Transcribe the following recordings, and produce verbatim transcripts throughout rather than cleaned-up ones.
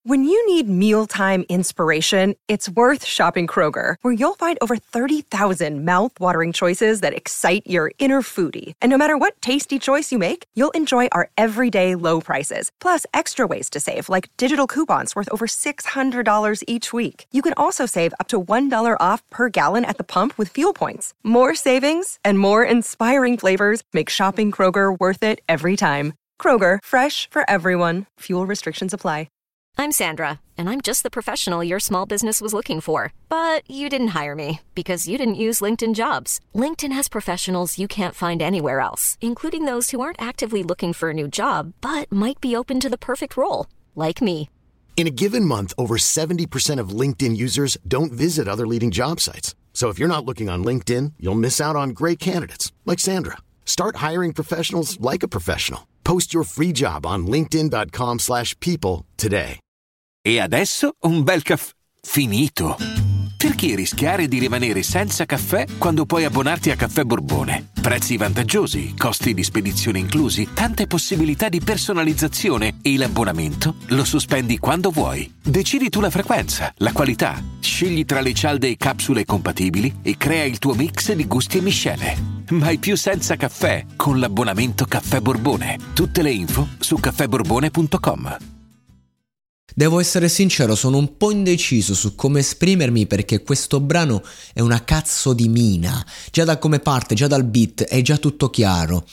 When you need mealtime inspiration, it's worth shopping Kroger, where you'll find over thirty thousand mouth-watering choices that excite your inner foodie. And no matter what tasty choice you make, you'll enjoy our everyday low prices, plus extra ways to save, like digital coupons worth over six hundred dollars each week. You can also save up to one dollar off per gallon at the pump with fuel points. More savings and more inspiring flavors make shopping Kroger worth it every time. Kroger, fresh for everyone. Fuel restrictions apply. I'm Sandra, and I'm just the professional your small business was looking for. But you didn't hire me because you didn't use LinkedIn Jobs. LinkedIn has professionals you can't find anywhere else, including those who aren't actively looking for a new job, but might be open to the perfect role, like me. In a given month, over seventy percent of LinkedIn users don't visit other leading job sites. So if you're not looking on LinkedIn, you'll miss out on great candidates, like Sandra. Start hiring professionals like a professional. Post your free job on linkedin.com slash people today. E adesso un bel caffè finito. Perché rischiare di rimanere senza caffè quando puoi abbonarti a Caffè Borbone? Prezzi vantaggiosi, costi di spedizione inclusi, tante possibilità di personalizzazione e l'abbonamento lo sospendi quando vuoi. Decidi tu la frequenza, la qualità, scegli tra le cialde e capsule compatibili e crea il tuo mix di gusti e miscele. Mai più senza caffè con l'abbonamento Caffè Borbone. Tutte le info su caffè borbone punto com. Devo essere sincero, sono un po' indeciso su come esprimermi perché questo brano è una cazzo di mina. Già da come parte, già dal beat, è già tutto chiaro.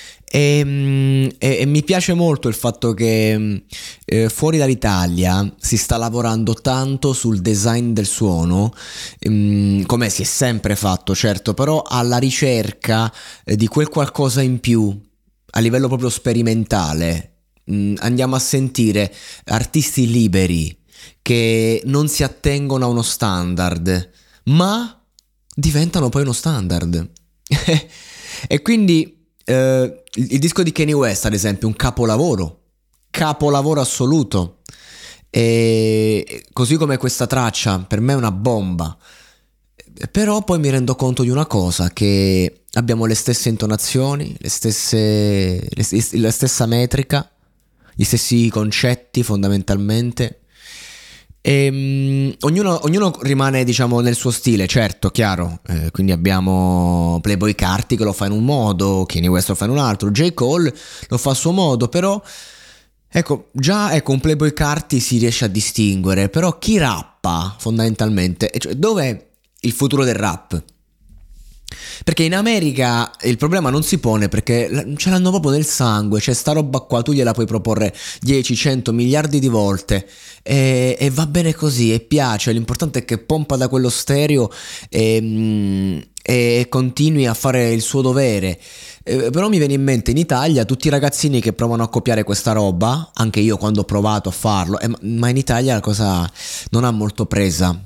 E, e, e mi piace molto il fatto che eh, fuori dall'Italia si sta lavorando tanto sul design del suono, ehm, come si è sempre fatto, certo, però alla ricerca eh, di quel qualcosa in più a livello proprio sperimentale. Andiamo a sentire artisti liberi che non si attengono a uno standard, ma diventano poi uno standard. E quindi eh, il, il disco di Kanye West, ad esempio, è un capolavoro, capolavoro assoluto. E così come questa traccia, per me è una bomba. Però poi mi rendo conto di una cosa, che abbiamo le stesse intonazioni, le stesse, le, la stessa metrica, gli stessi concetti fondamentalmente, e um, ognuno, ognuno rimane, diciamo, nel suo stile, certo, chiaro, eh, quindi abbiamo Playboi Carti che lo fa in un modo, Kanye West lo fa in un altro, J. Cole lo fa a suo modo, però ecco, già ecco, un Playboi Carti si riesce a distinguere, però chi rappa fondamentalmente, cioè, dov'è il futuro del rap? Perché in America il problema non si pone perché ce l'hanno proprio nel sangue, cioè sta roba qua tu gliela puoi proporre dieci, cento miliardi di volte e, e va bene così e piace, l'importante è che pompa da quello stereo e, e continui a fare il suo dovere. Eh, però mi viene in mente in Italia tutti i ragazzini che provano a copiare questa roba, anche io quando ho provato a farlo, eh, ma in Italia la cosa non ha molto presa.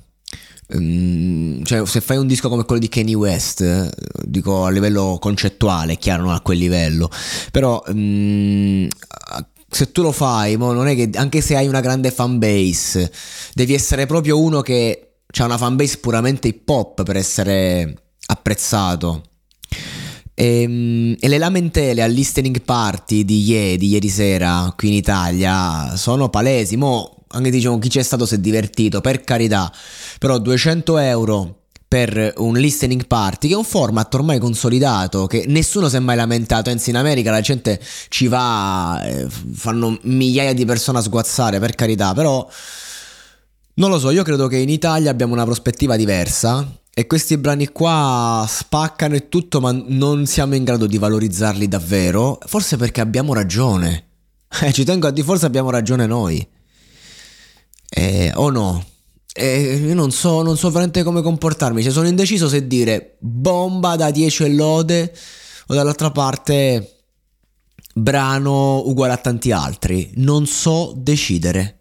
Um, cioè se fai un disco come quello di Kanye West, eh, dico a livello concettuale, è chiaro, non a quel livello, però um, se tu lo fai, mo non è che anche se hai una grande fanbase devi essere proprio uno che ha una fanbase puramente hip hop per essere apprezzato. E, e le lamentele al listening party di ieri, di ieri sera qui in Italia sono palesi. Mo anche diciamo chi c'è stato si è divertito, per carità, però duecento euro per un listening party, che è un format ormai consolidato, che nessuno si è mai lamentato, anzi in America la gente ci va, eh, fanno migliaia di persone a sguazzare, per carità, però non lo so, io credo che in Italia abbiamo una prospettiva diversa e questi brani qua spaccano e tutto, ma non siamo in grado di valorizzarli davvero, forse perché abbiamo ragione, eh, ci tengo a dire, forse abbiamo ragione noi. Eh, o no, eh, io non so, non so veramente come comportarmi, cioè sono indeciso se dire bomba da dieci e lode o dall'altra parte brano uguale a tanti altri, non so decidere.